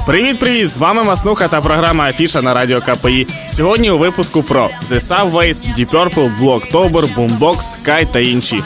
Привіт-привіт! З вами Маснуха та програма Афіша на радіо КПІ. Сьогодні у випуску про The Subways, Deep Purple, Blue October, Boombox, Sky та інші.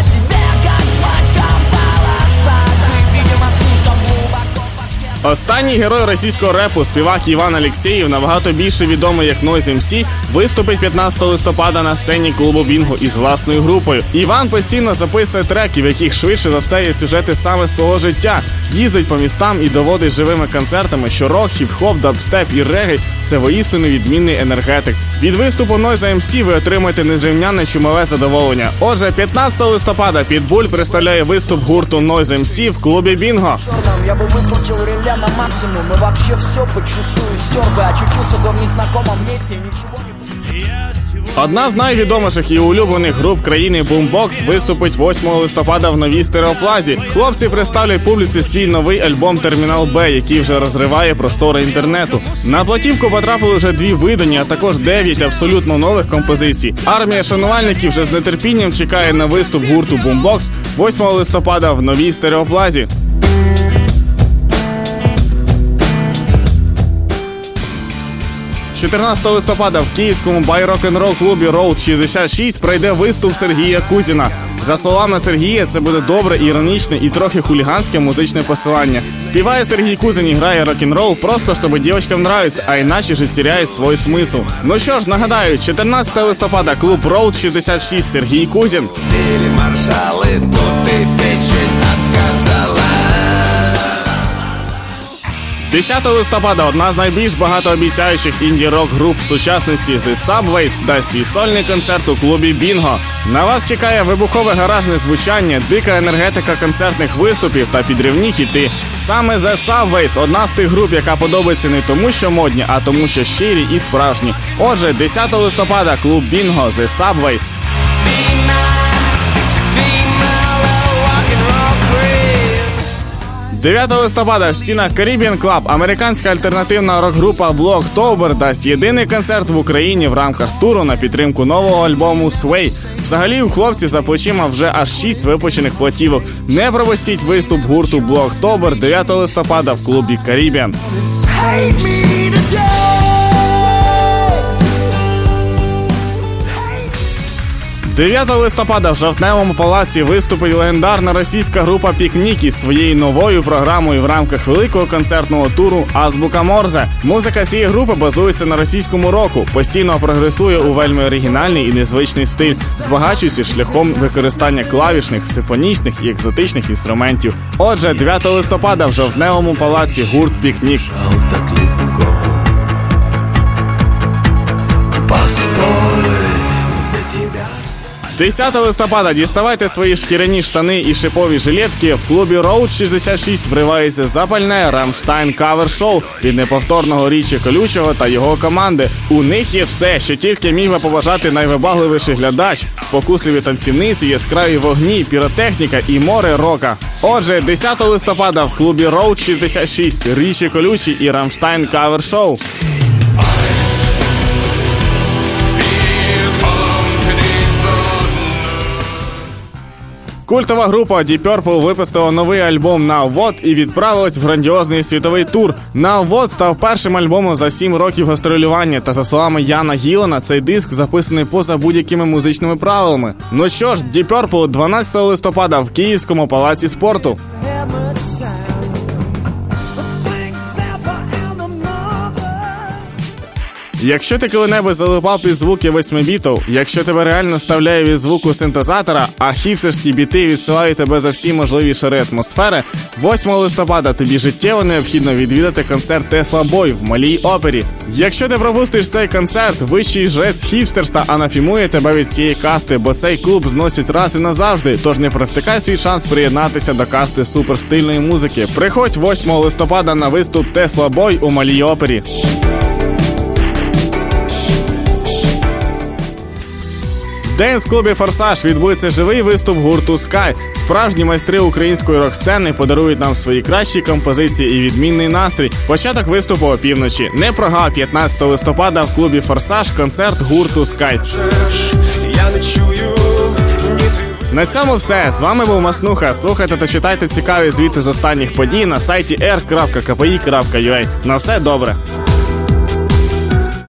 Останній герой російського репу, співак Іван Алєксєєв, набагато більше відомий як Noise MC, виступить 15 листопада на сцені клубу Бінго із власною групою. Іван постійно записує треки, в яких швидше за все є сюжети саме з твого життя. Їздить по містам і доводить живими концертами, що рок, хіп-хоп, дабстеп і регель – це воістину відмінний енергетик. Від виступу Noise MC ви отримаєте незрівнянне чумове задоволення. Отже, 15 листопада Pitbull представляє виступ гурту Noise MC в клубі Бінго. На максимум, и вообще все подчистую стер бы, очутился бы в незнакомом месте, ничего не... Одна з найвідоміших і улюблених груп країни Boombox виступить 8 листопада в новій стереоплазі. Хлопці представлять публіці свій новий альбом «Термінал Б», який вже розриває простори інтернету. На платівку потрапили вже 2 видані, а також 9 абсолютно нових композицій. Армія шанувальників вже з нетерпінням чекає на виступ гурту Boombox 8 листопада в новій стереоплазі. 14 листопада в київському бай-рок-н-рол клубі Road 66 пройде виступ Сергія Кузіна. За словами Сергія, це буде добре, іронічне і трохи хуліганське музичне посилання. Співає Сергій Кузін і грає рок-н-рол просто, щоб дівчатам нравиться, а іначе ж теряє свій смисл. Ну що ж, нагадаю, 14 листопада клуб Road 66 Сергій Кузін. 10 листопада одна з найбільш багатообіцяючих інді-рок груп сучасності The Subways дасть свій сольний концерт у клубі Бінго. На вас чекає вибухове гаражне звучання, дика енергетика концертних виступів та підривні хіти. Саме The Subways – одна з тих груп, яка подобається не тому, що модні, а тому, що щирі і справжні. Отже, 10 листопада клуб Бінго The Subways. 9 листопада в стінах Caribbean Club американська альтернативна рок-група Blue October дасть єдиний концерт в Україні в рамках туру на підтримку нового альбому Sway. Взагалі у хлопців за плечима вже аж 6 випущених платівок. Не пропустіть виступ гурту Blue October 9 листопада в клубі Caribbean. 9 листопада в Жовтневому палаці виступить легендарна російська група «Пікнік» із своєю новою програмою в рамках великого концертного туру «Азбука Морзе». Музика цієї групи базується на російському року, постійно прогресує у вельми оригінальний і незвичний стиль, збагачуючи шляхом використання клавішних, симфонічних і екзотичних інструментів. Отже, 9 листопада в Жовтневому палаці гурт «Пікнік». 10 листопада діставайте свої шкіряні штани і шипові жилетки. В клубі Road 66 вривається запальне Rammstein кавер-шоу від неповторного Річі Колючого та його команди. У них є все, що тільки міг би побажати найвибагливіший глядач. Спокусливі танцівниці, яскраві вогні, піротехніка і море рока. Отже, 10 листопада в клубі Road 66 Річі Колючий і Rammstein кавер-шоу. Культова група Deep Purple випустила новий альбом Now What і відправилась в грандіозний світовий тур. Now What став першим альбомом за 7 років гастролювання, та за словами Яна Гілана, цей диск записаний поза будь-якими музичними правилами. Ну що ж, Deep Purple 12 листопада в Київському палаці спорту. Якщо ти коли-небудь залипав під звуки 8-бітів, якщо тебе реально ставляє від звуку синтезатора, а хіпстерські біти відсилають тебе за всі можливі шари атмосфери, 8 листопада тобі життєво необхідно відвідати концерт Tesla Boy в Малій опері. Якщо ти пропустиш цей концерт, вищий жрець хіпстерства анафімує тебе від цієї касти, бо цей клуб зносить раз і назавжди, тож не провтикай свій шанс приєднатися до касти суперстильної музики. Приходь 8 листопада на виступ Tesla Boy у Малій опері. В денс-клубі «Форсаж» відбудеться живий виступ гурту Sky. Справжні майстри української рок-сцени подарують нам свої кращі композиції і відмінний настрій. Початок виступу опівночі. Не прогав 15 листопада в клубі «Форсаж» концерт гурту Sky. На цьому все. З вами був Маснуха. Слухайте та читайте цікаві звіти з останніх подій на сайті r.kpi.ua. На все добре.